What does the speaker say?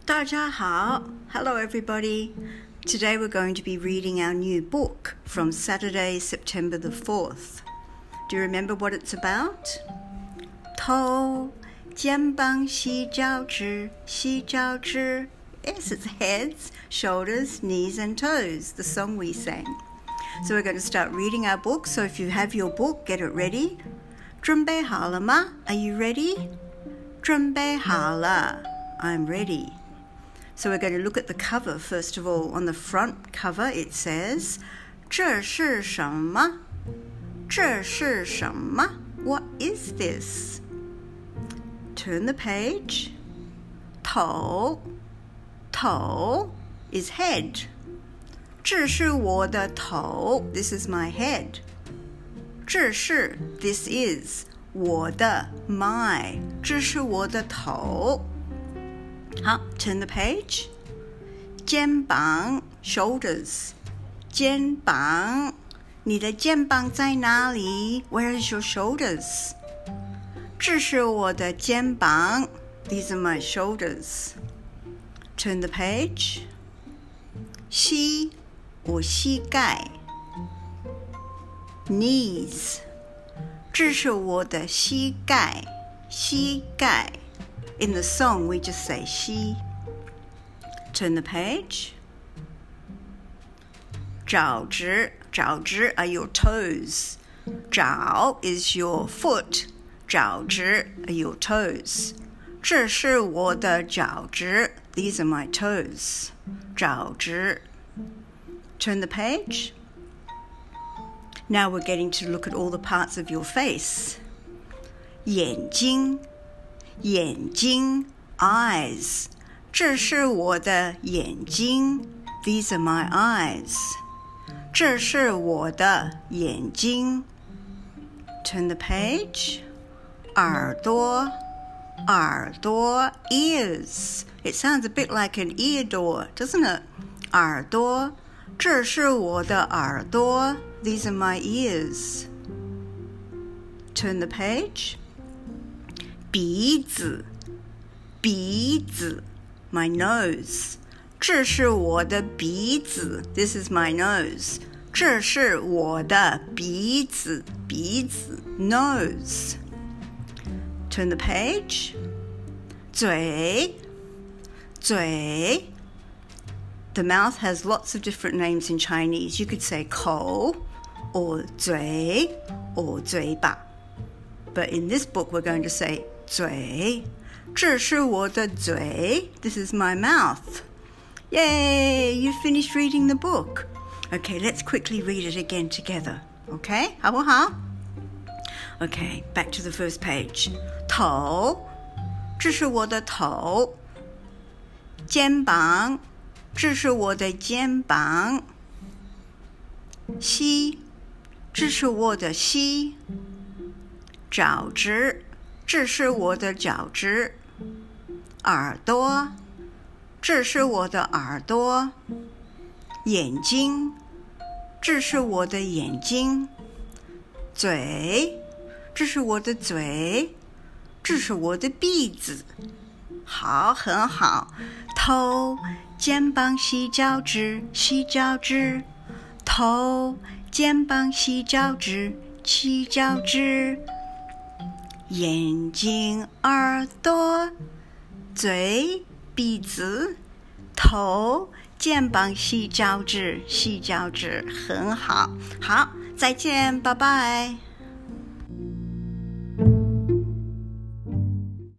大家好. Hello everybody. Today we're going to be reading our new book from Saturday, September the 4th. Do you remember what it's about? 头肩膀洗脚趾洗脚趾 Yes, it's heads, shoulders, knees and toes, the song we sang. So we're going to start reading our book. So if you have your book, get it ready. 准备好了吗? Are you ready? 准备好了. I'm ready. So we're going to look at the cover first of all. On the front cover it says 这是什么?这是什么? What is this? Turn the page. 头 is head. 这是我的头 This is my head. 这是 This is 我的 my 这是我的头好 Turn the page. 肩膀 shoulders 肩膀你的肩膀在哪里 Where is your shoulders? 这是我的肩膀 These are my shoulders. Turn the page. 膝我膝盖 knees 这是我的膝盖膝盖 In the song we just say 膝 Turn the page. 脚趾 are your toes. 脚 is your foot. 脚趾 are your toes. 这是我的脚趾 These are my toes. 脚趾 Turn the page. Now we're getting to look at all the parts of your face. 眼睛 eyes 这是我的眼睛 These are my eyes. 这是我的眼睛 Turn the page. 耳朵 ears. It sounds a bit like an ear door, doesn't it? 耳朵这是我的耳朵 These are my ears. Turn the page. 鼻子 my nose 这是我的鼻子 This is my nose. 这是我的鼻子 nose. Turn the page. 嘴 The mouth has lots of different names in Chinese. You could say 口 or 嘴 or 嘴巴. But in this book we're going to say 嘴这是我的嘴 This is my mouth. Yay! You finished reading the book. Okay, let's quickly read it again together. Okay? 好不好? Okay, back to the first page. 头这是我的头肩膀这是我的肩膀膝这是我的膝脚趾这是我的脚趾耳朵这是我的耳朵眼睛这是我的眼睛嘴这是我的嘴这是我的鼻子好很好头肩膀洗脚趾洗脚趾头肩膀洗脚趾洗脚趾眼睛耳朵嘴鼻子头肩膀洗脚趾洗脚趾很好好再见拜拜